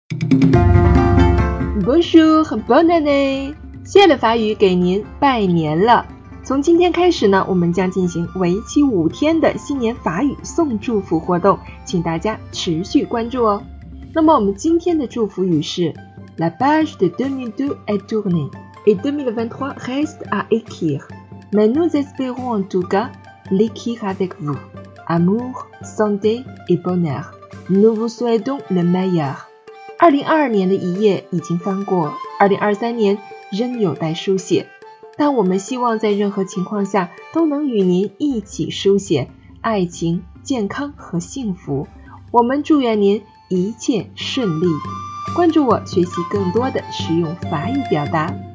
Bonjour, bonne année！ 谢谢的法语给您拜年了。从今天开始呢，我们将进行为期5天的新年法语送祝福活动，请大家持续关注哦。那么我们今天的祝福语是 La page de 2022 est tournée et 2023 reste à écrire. Mais nous espérons en tout cas l'écrire avec vous. Amour, santé et bonheur. Nous vous souhaitons le meilleur. 2022年的一页已经翻过，2023年仍有待书写，但我们希望在任何情况下都能与您一起书写爱情、健康和幸福。我们祝愿您一切顺利。关注我，学习更多的实用法语表达。